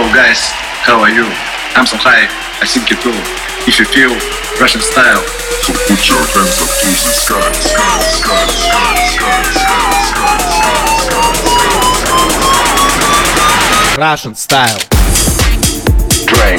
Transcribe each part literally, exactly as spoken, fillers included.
guys, how are you? I'm so high, I think you too. If you feel Russian style, so put your hands up to the sky, sky, sky, sky, sky, sky, sky, sky. Russian style. Drink.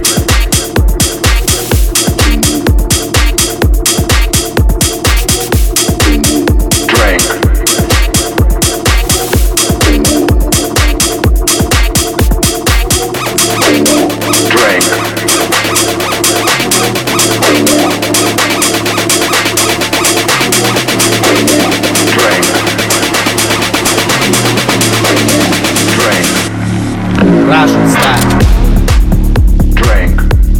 Russian style. Drink.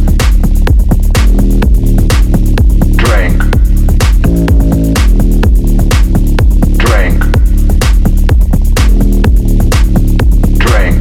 Drink. Drink. Drink.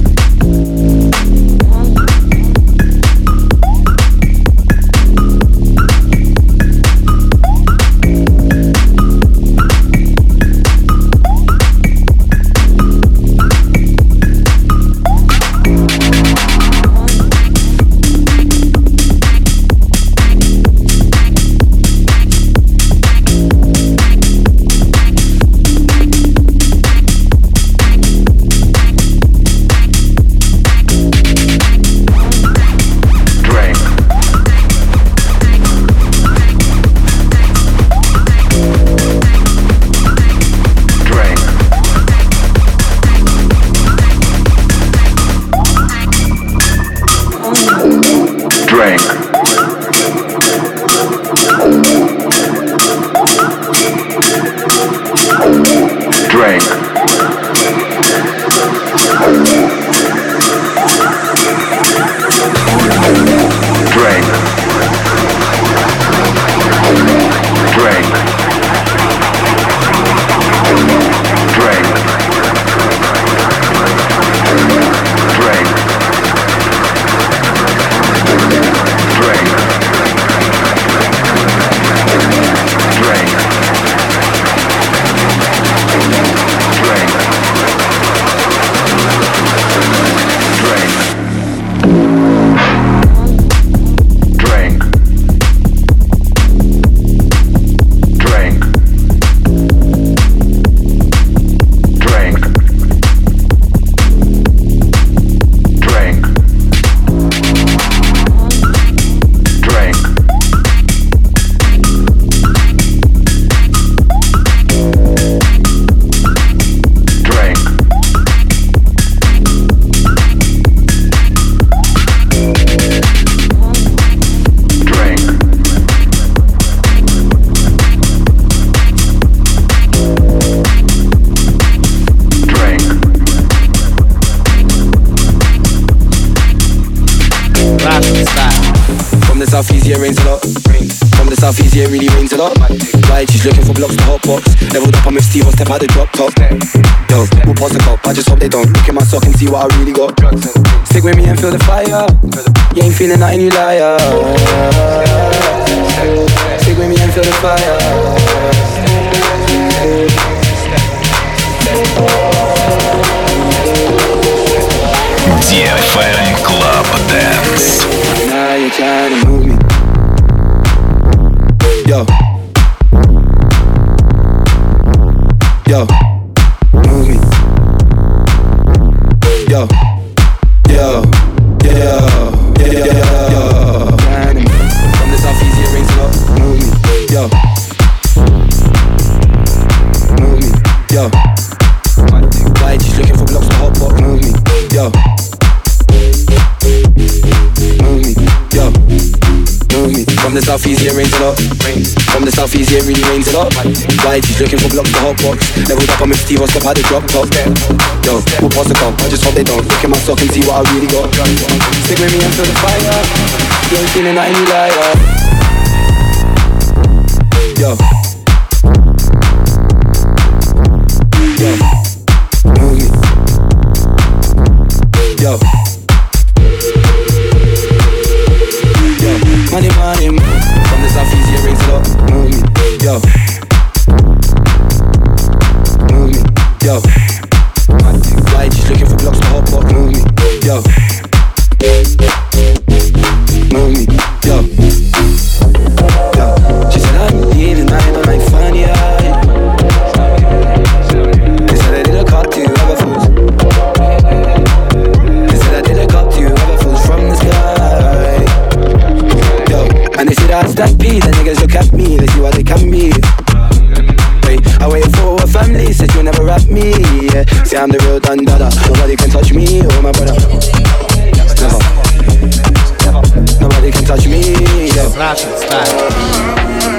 Drink. Drink. Drink. Drink. Drink. Drink. Southeast, yeah, rains a lot. From the southeast, yeah, really rains a lot. Right, she's looking for blocks to hot box. Leveled up, I'm with Steve, I'll step out the drop top. Yo, we'll pause the cop, I just hope they don't look in my sock and see what I really got. Stick with me and feel the fire. You ain't feeling nothing, you liar. Stick with me and feel the fire. ди эф эм Club Dance. Now you're trying to move me. Yo. Yo. Move me. Yo. Yo. Yo. Yo. Yo. From the southeast, it rains a lot. Move me. Yo. Move me. Yo. Right, she's looking for blocks to hot box. Move me. Yo. Move me, yo, move me. From the southeast, yeah, rains a lot. From the southeast, yeah, really rains a lot. Right, she's looking for blocks to hot box. Leveled up, I'm with Steve, I'll step out the drop top. Yo, we'll pause the cop, I just hope they don't look in my sock and see what I really got. Stick with me and feel the fire. You ain't feeling nothing, you liar. Yo. Yo. Move me. Yo. Money, money, from the southeast, yeah, rains a lot. Move me, yo. Move me, yo. Right, she's looking for blocks to hot box. Move me, yo. and dada. Nobody can touch me or my brother. Never. Nobody can touch me. Yeah. Russian style.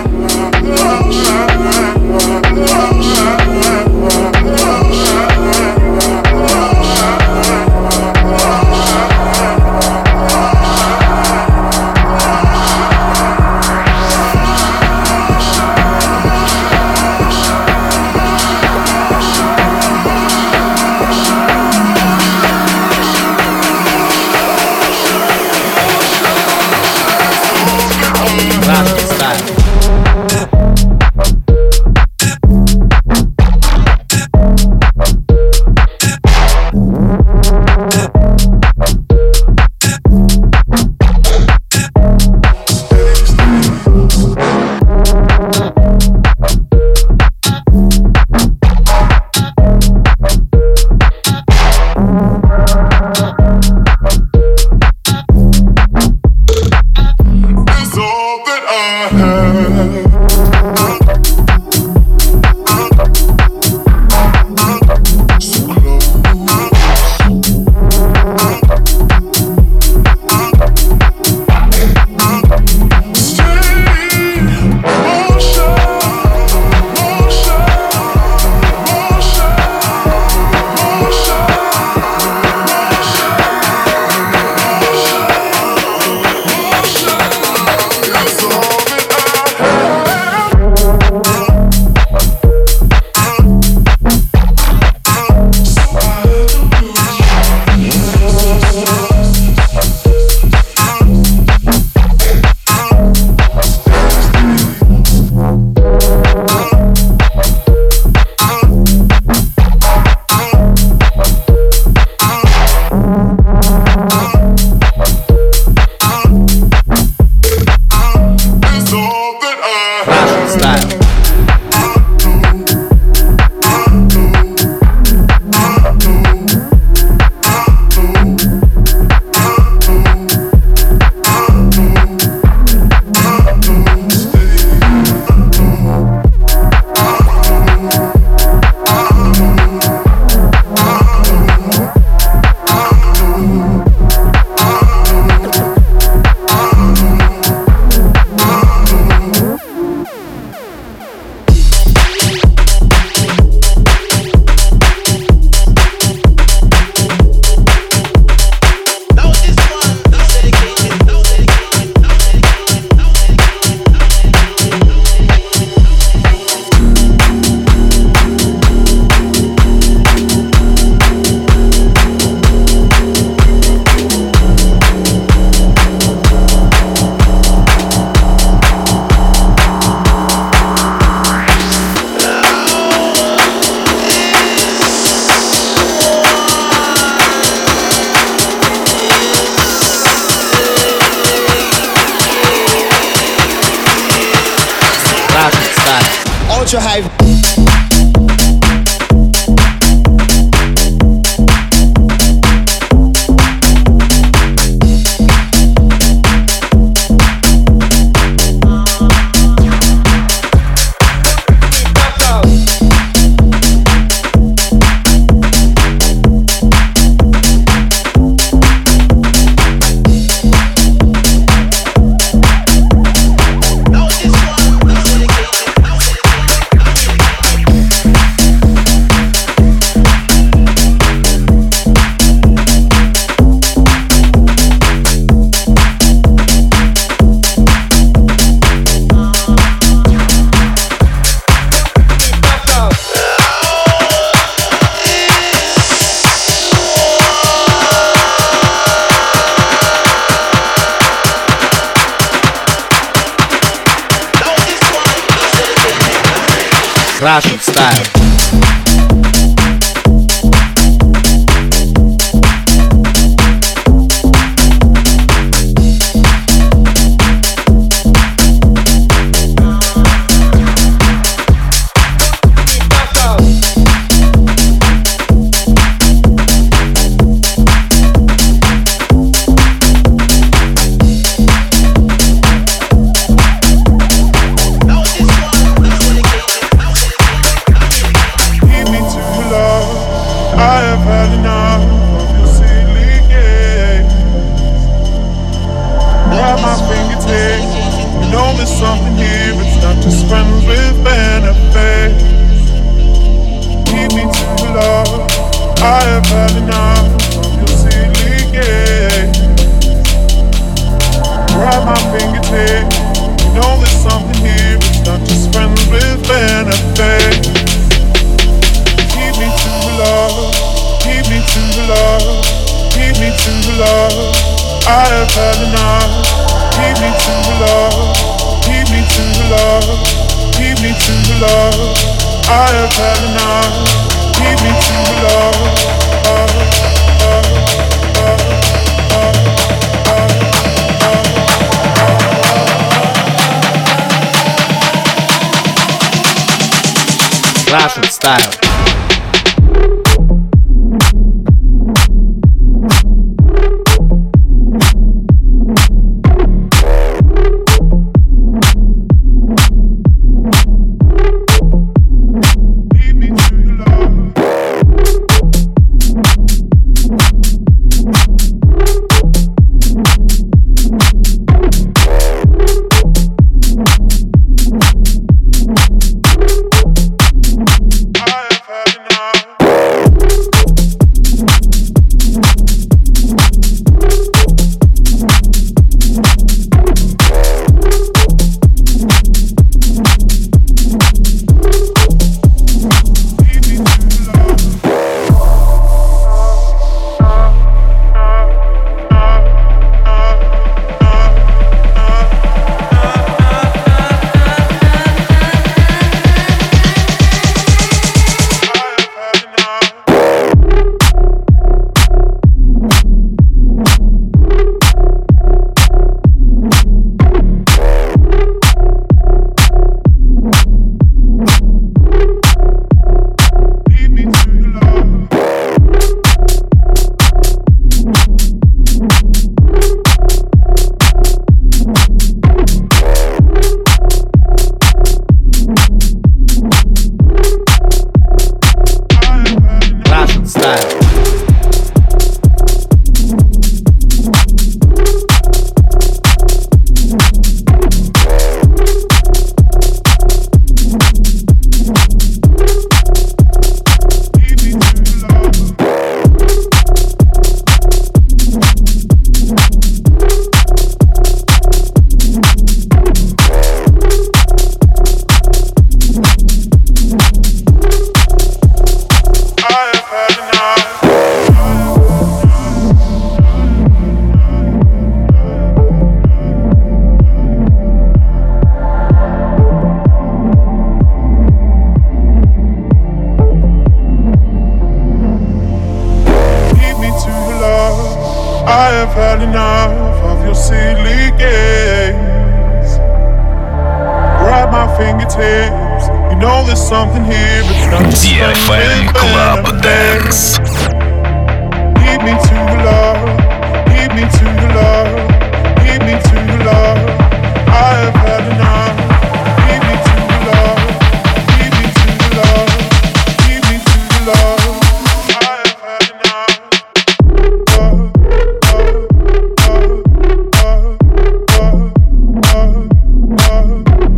Ultra high. Russian style. fingertips. You know there's something here. It's not just friends with benefits. Keep me to the love. Keep me to the love. Keep me to the love. I have had enough. Keep me to the love. Keep me to the love. Keep me to the love. I have had enough. Keep me to the love. Uh, uh, uh, uh, uh, uh. Russian style. ди эф эм Club Dance. Lead me to the love, lead me to the love, lead me to the love. I have had enough. Lead me to the love, lead me to the love, lead me to the love. I have had enough. Uh, uh, uh, uh, uh, uh, uh,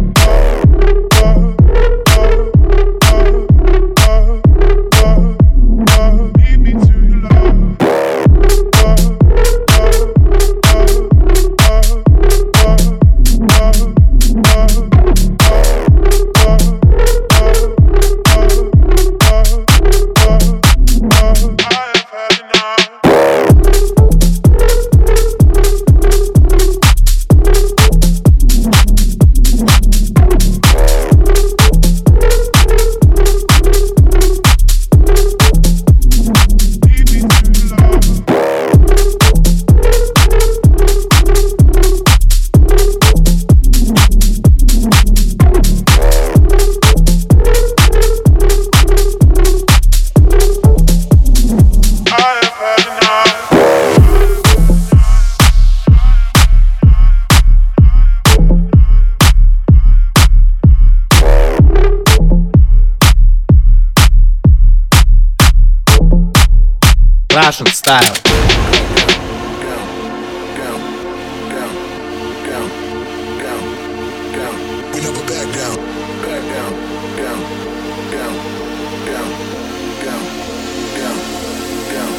Russian style.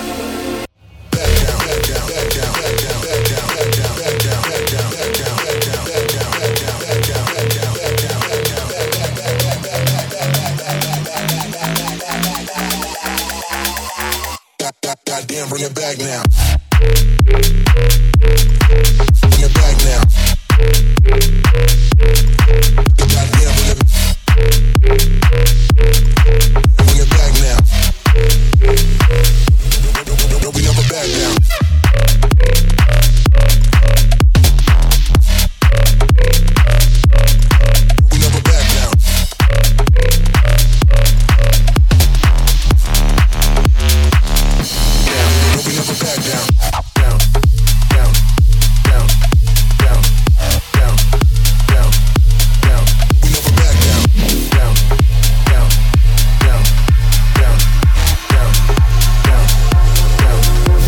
Back down, back down, back down, back down, back down, back down, back down, back down, back down. Bring it back now. Bring it back now. Goddamn, bring it. Bring it back now. We never back down. We never back down. We never back down. Down, down, down, down, down, down, down. We never back down. Down, down, down, down, down, down, down,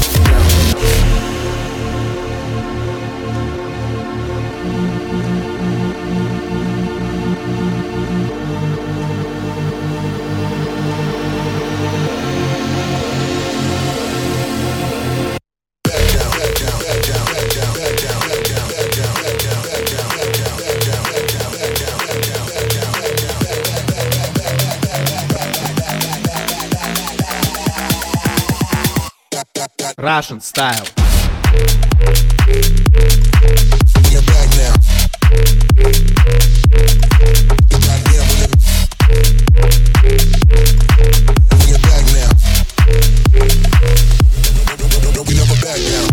Russian style. Get back now. Goddamn, bring it. Bring it back now. We never back down.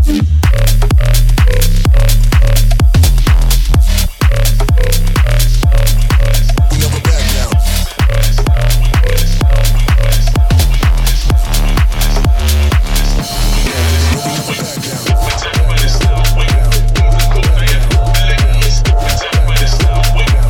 We never back down. We never back down.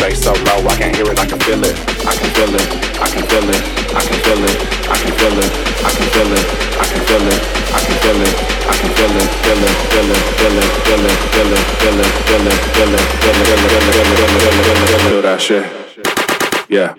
bass so low, I can hear it, I can feel it. I can feel it, I can feel it, I can feel it, I can feel it, I can feel it, I can feel it, I can feel it, I can feel it, feel it, feel it, feel it, feel it, feel it, feel it, feel it, feel it, feel it, feel it, feel it, feel it, feel it, feel that shit. Yeah.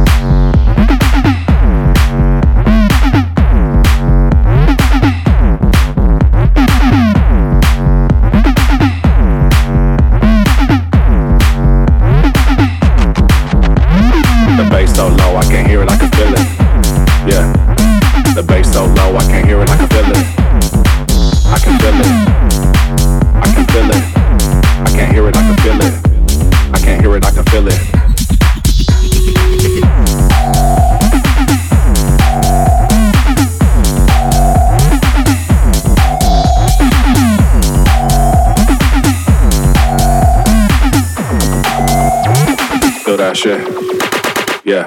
So low, I can't hear it, I can feel it. Yeah, the bass so low, I can't hear it, I can feel it. I can feel it. I can feel it. I can't hear it, I can feel it. I can't hear it, I can feel it. Feel that shit. Yeah.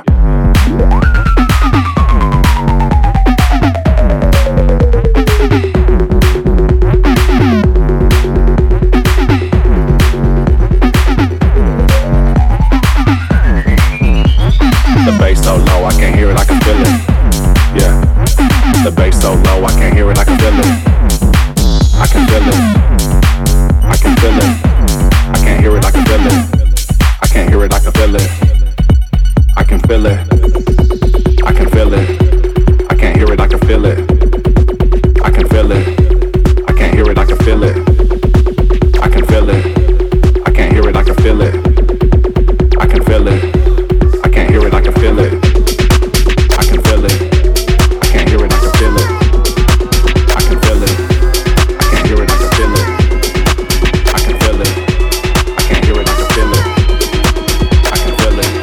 The bass so low, I can't hear it, I can feel it. Yeah. The bass so low, I can't hear it, I can feel it. I can feel it. I can feel it. I can't hear it, I can feel it. I can't hear it, I can feel it. I can feel it. I can feel it. I can't hear it, I can feel it. I can feel it. I can't hear it, I can feel it. I can feel it. I can't hear it, I can feel it. I can feel it. I can't hear it, I can feel it. I can feel it. I can't hear it, I can feel it. I can feel it. I can't hear it, I can feel it. I can feel it. I can't hear it, I can feel it. I can feel it.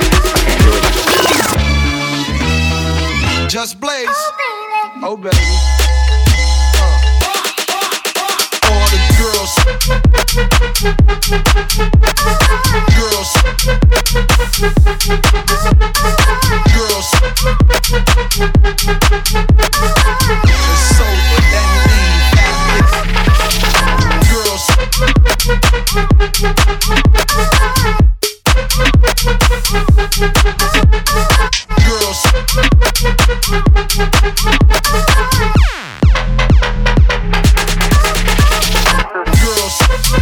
Just Blaze. Oh, baby. Uh. All the girls. Girls. Girls. It's so good that you leave. Girls. Girls. Girls.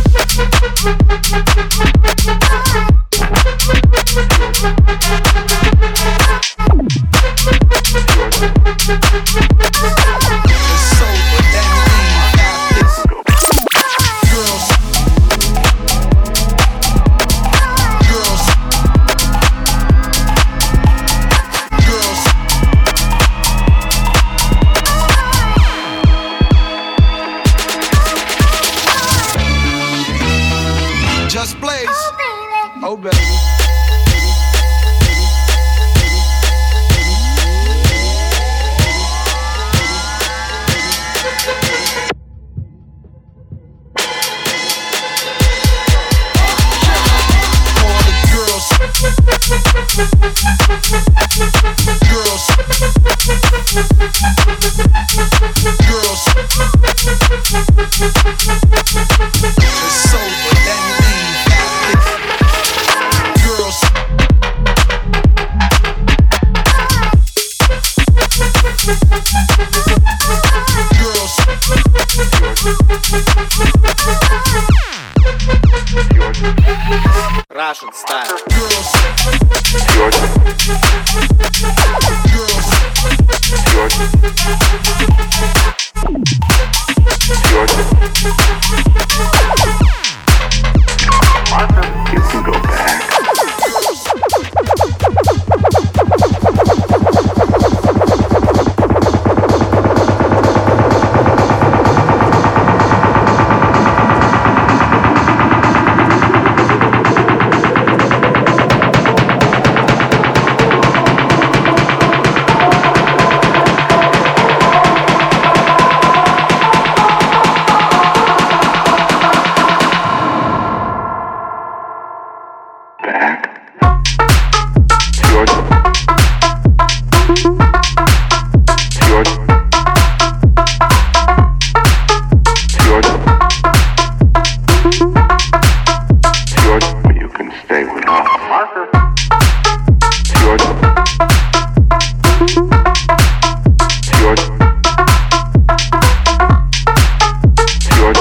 It's so good that you leave. Girls. Girls. Girls. Just Blaze. Oh, baby. Girls. Girls. It's so good that you leave. Girls. Girls. Russian style. Girls. Girls. You can go back. You can stay. stay with us. Yours. Yours. Yours.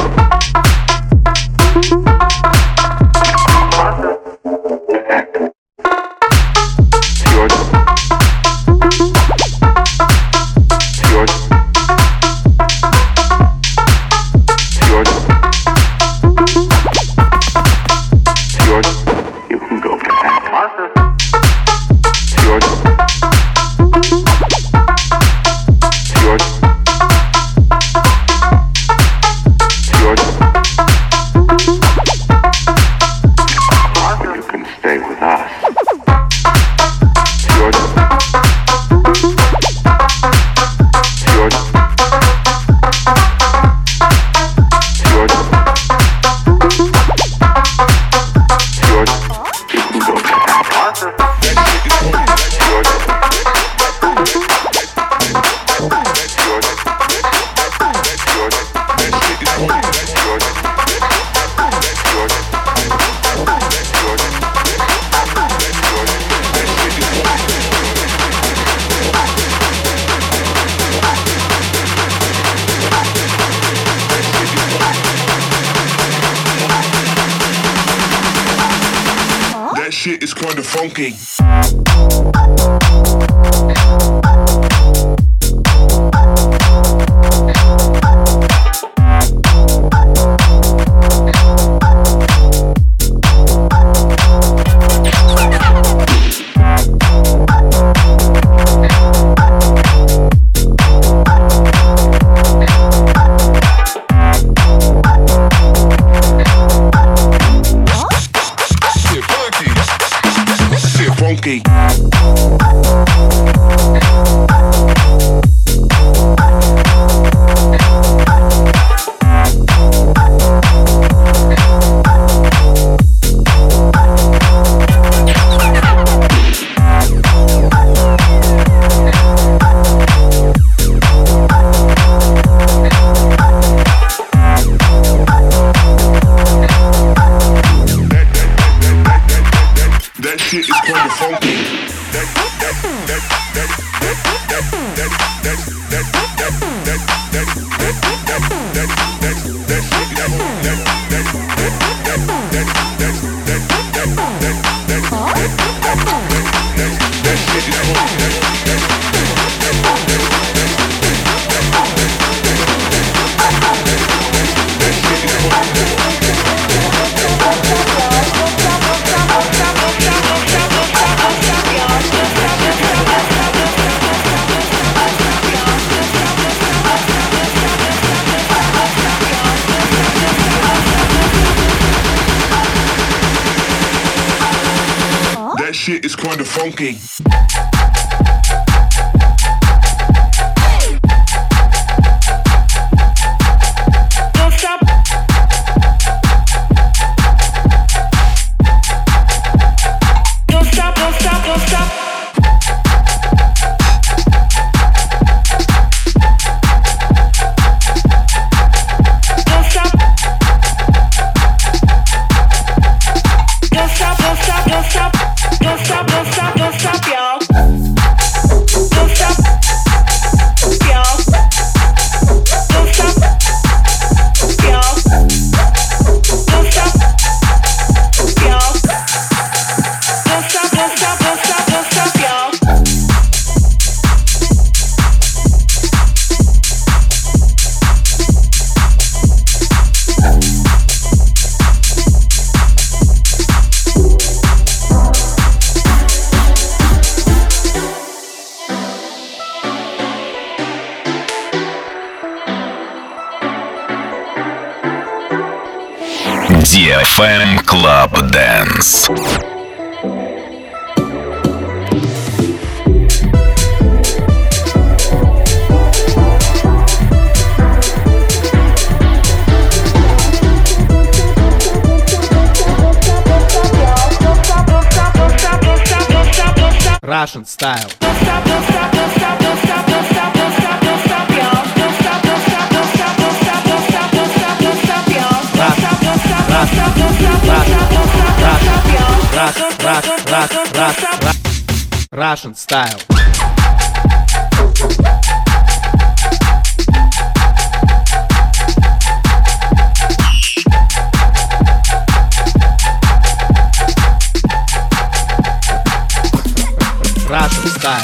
Shit is kinda funky. Funky. That shit is kinda funky. That that that that that that that that that that that that that that that that that shit is that that that that that that that that that that shit is That shit is kinda funky. Don't stop. Don't stop, don't stop, don't stop. Don't stop. Don't stop, don't stop, don't stop. Don't stop, don't stop, don't stop, y'all. Don't stop, y'all. Don't stop, y'all. Don't stop, y'all. Don't stop, don't stop, don't stop, don't stop, y'all. ди эф эм Club Dance. Russian style. Russian, Russian, Russian, Russian style. Russian style.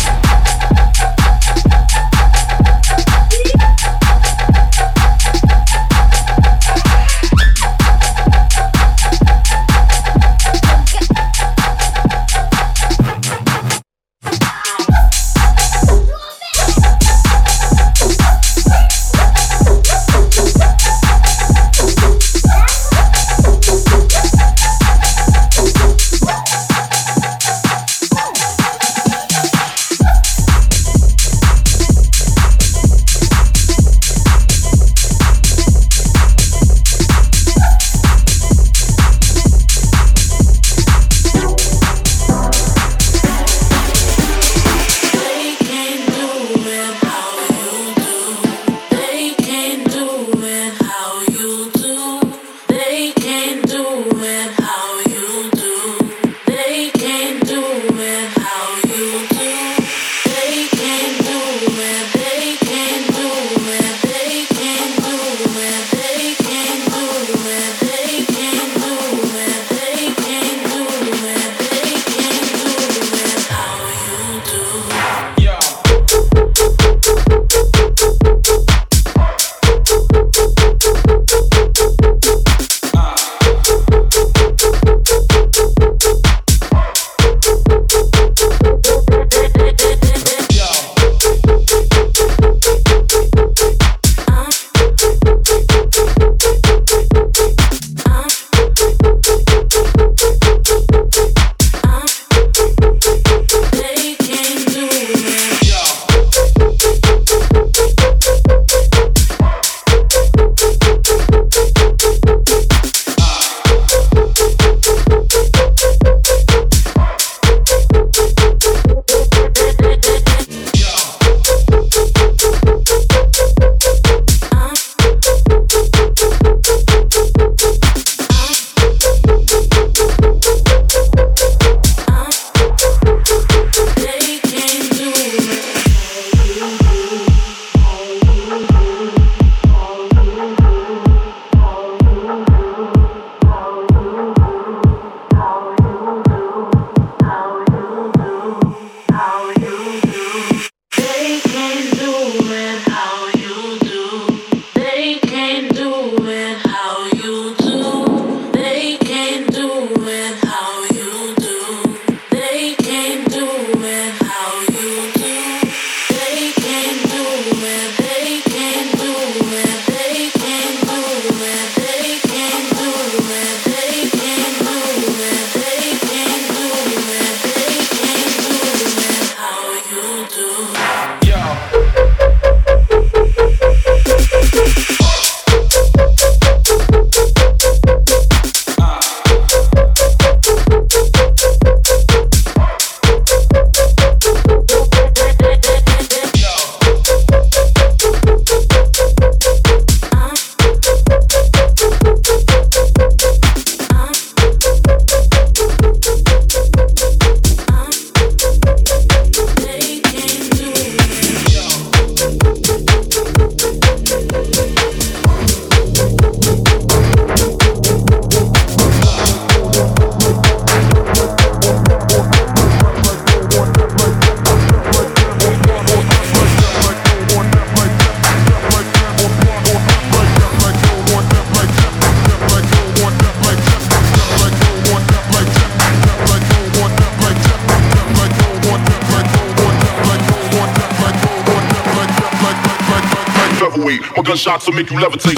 My gunshots will make you levitate.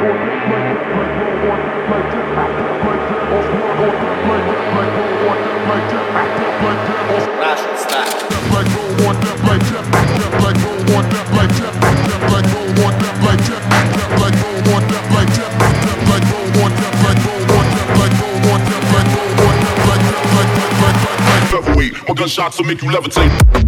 Russian style. My gunshots will make you levitate.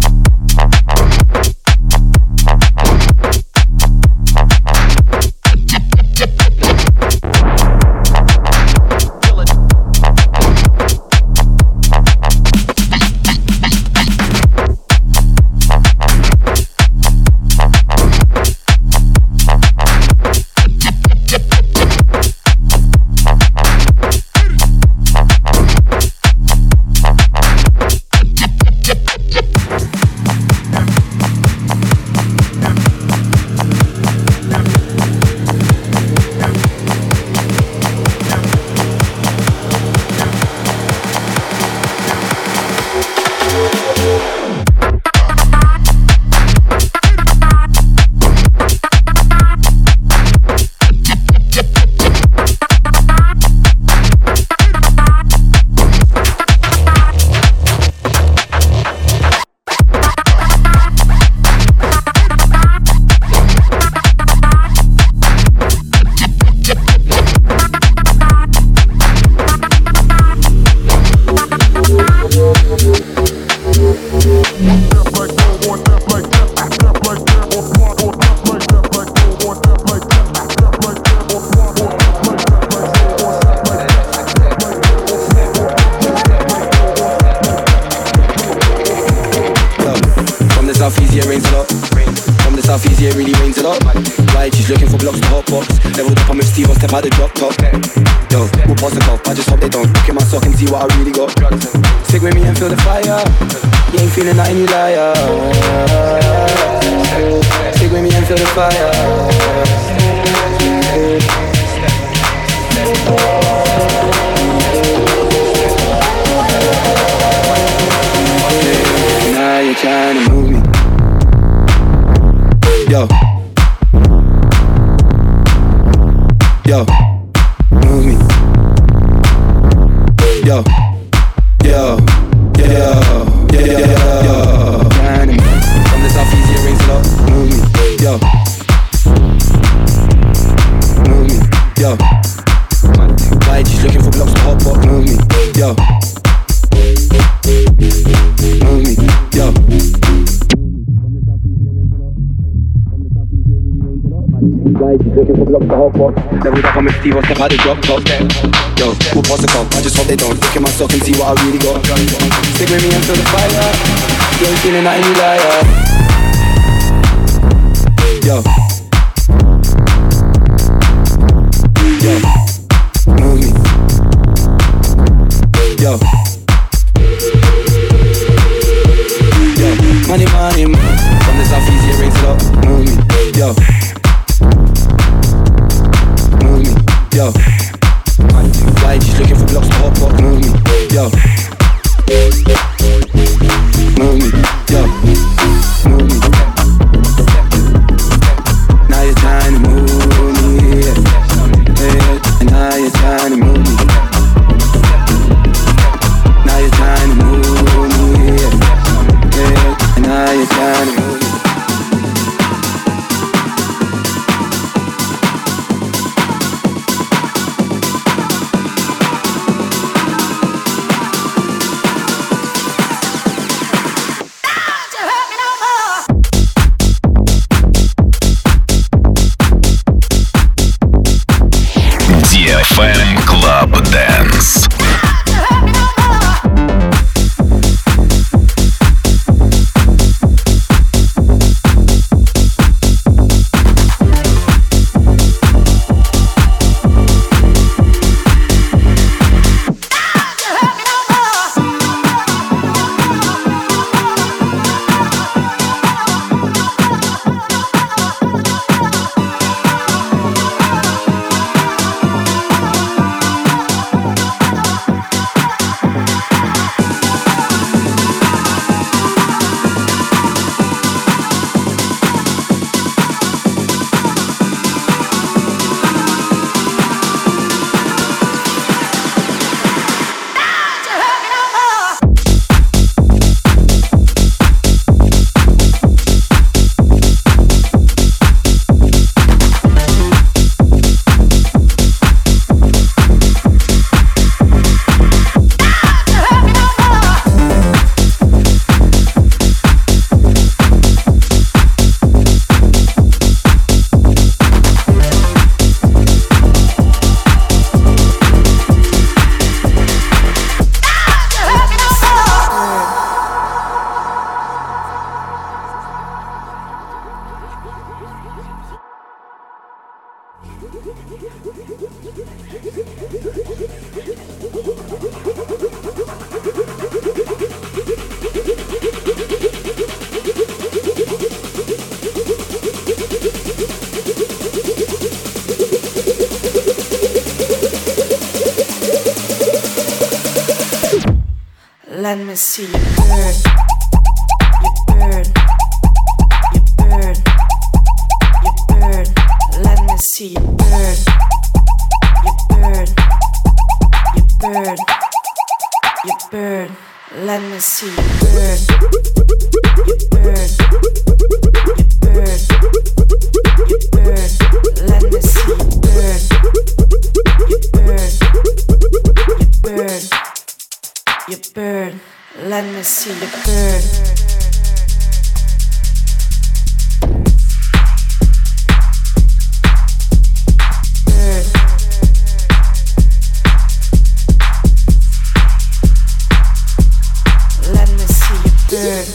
By the drop top, yo, we'll pause the cup. I just hope they don't look in my sock and see what I really got. Stick with me and feel the fire. You ain't feeling nothing, you liar. Stick with me and feel the fire. Now you're trying to move me, yo. Yo, move me. Yo, yo, yo, yo, yo, yo. From the south east, it rains a lot. Move me. Yo, move me. Yo, Y G's looking for blocks to hot pot. Move me. Yo, move me. Yo. Y G's looking for blocks to hot pot. Leveled up, I'm with Steve, I'll step out the drop top. Yo, we'll pass the cup, I just hope they don't look in my sock and see what I really got. Stick with me and feel the fire. You ain't feeling nothing, you liar. Yo, yo, move me. Yo, yo, money, money, money. From the south east, it rains a lot. Move me. Yo, move me. Yo, Y G's looking for blocks to hot pot. Move me. Yo, move me. Yo, move me. Let me see you burn, you burn, you burn, you burn. Let me see you burn, you burn, you burn, you burn. Let me see you burn, you burn, you burn, you burn. Let me see you burn, you burn, you burn. You burn, let me see you burn. Burn. Let me see you burn.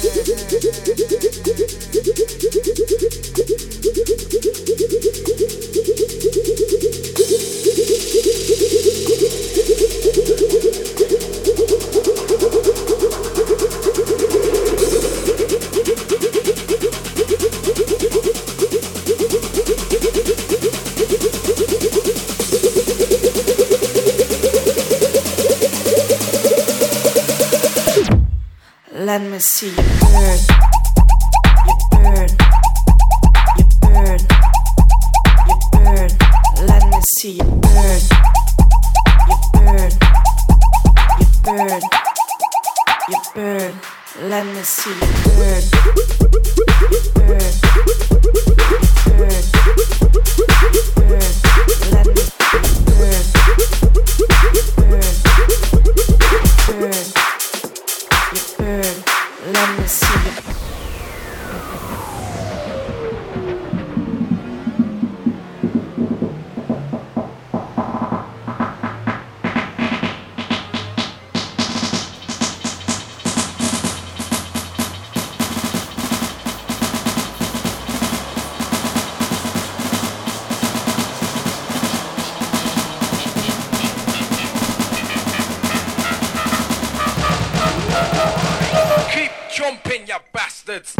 Let me see you burn, you burn, you burn, you burn. Let me see you burn, you burn, you burn, you burn. Let me see you burn, you burn, you burn, you burn. Let me see you burn, you burn, you burn. You burn, let me see you. Jumping, you bastards!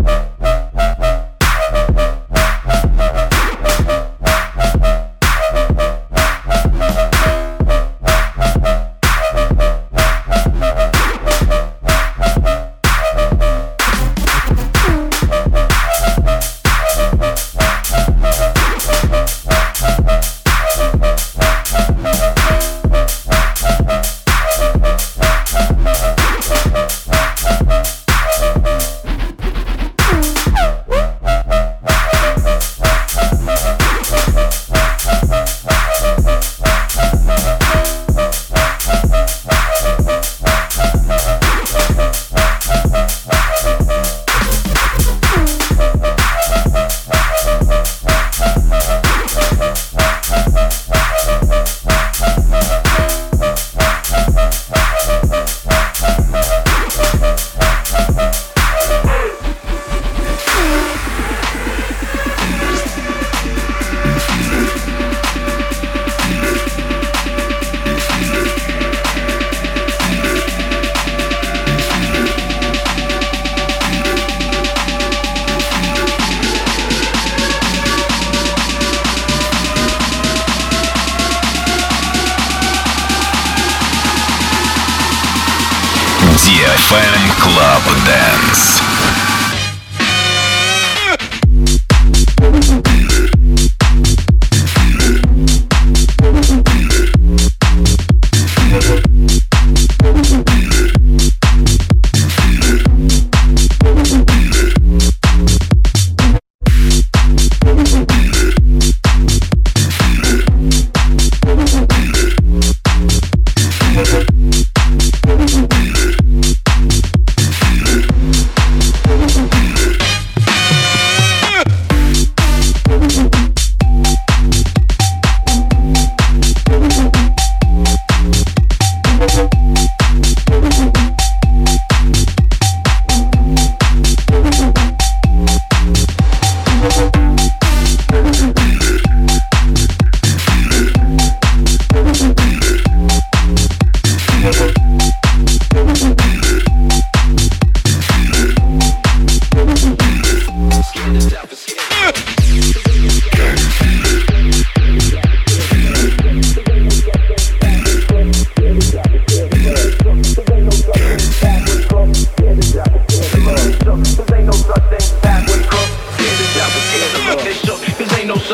ди эф эм Club Dance.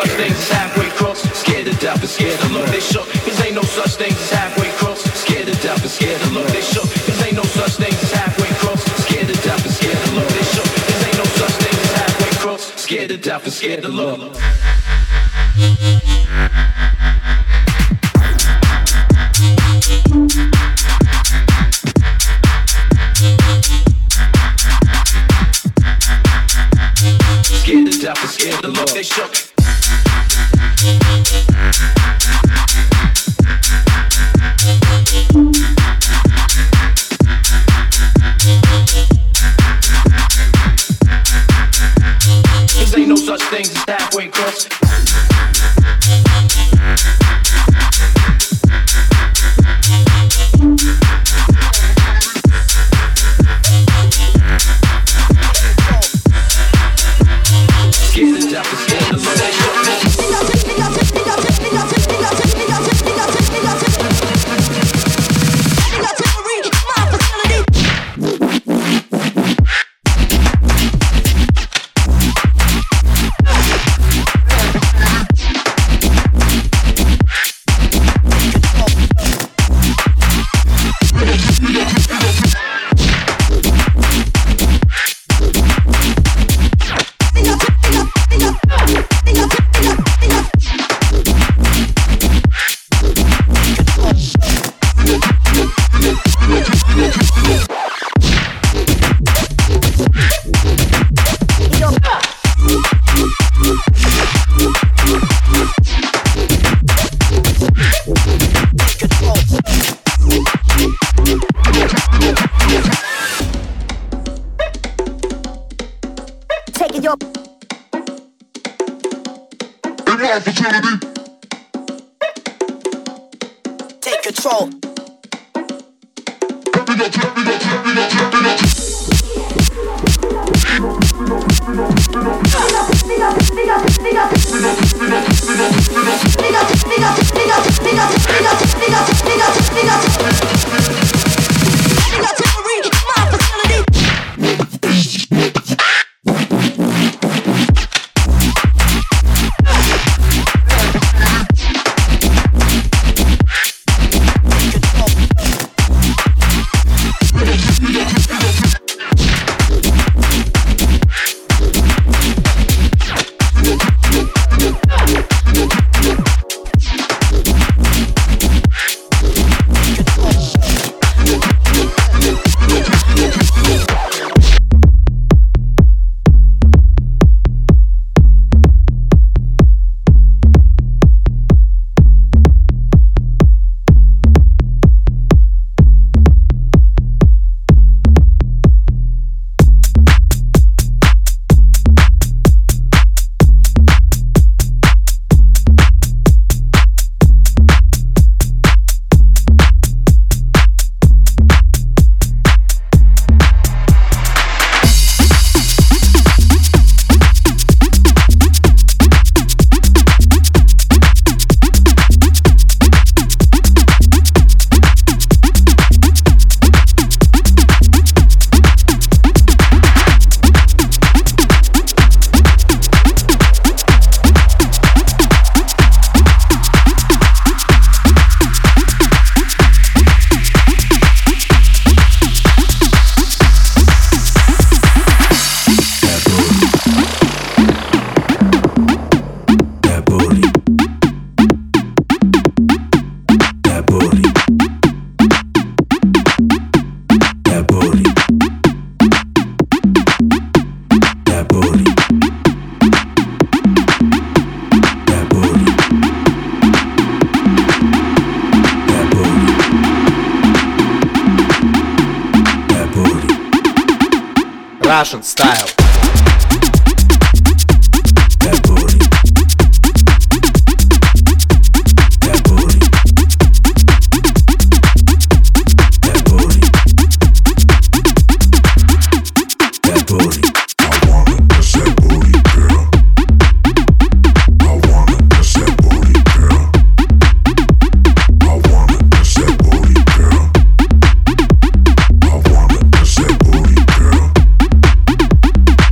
such things as halfway crooks. Scared to death and scared to look, they shook. Cause ain't no such things as halfway crooks. Scared to death and scared to look, they shook. Cause ain't no such things as halfway crooks. Scared to death and scared to look, they shook. Cause ain't no such things as halfway crooks. Scared to death and scared to look. Scared to death and scared to look, they shook. Cause ain't no such things as halfway crooks. Scared to death and scared to look, they shook. Take control. Russian style. I wanna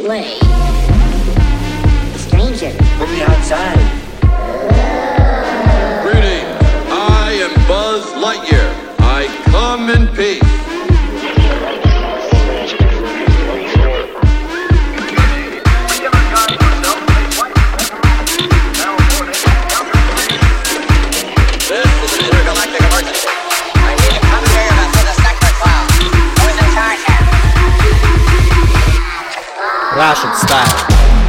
play. Stranger, put me outside. Greetings, I am Buzz Lightyear. I come in peace. This is an intergalactic emergency. I need a commandeer vessel to Sector twelve. Who's in charge here? Russian style.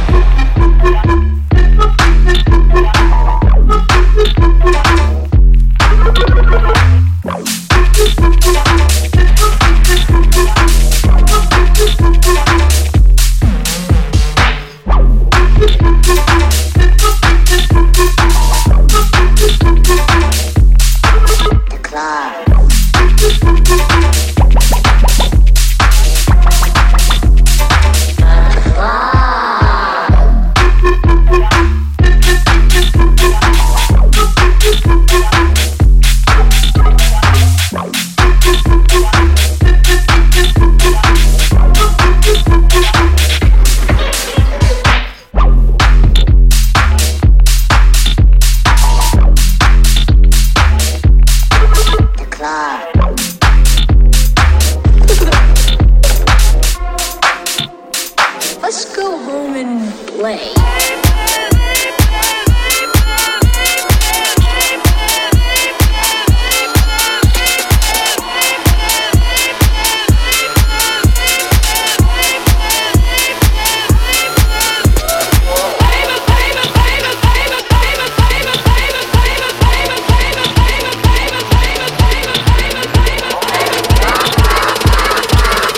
Let's go home and play.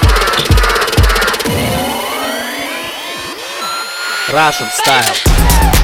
Russian style.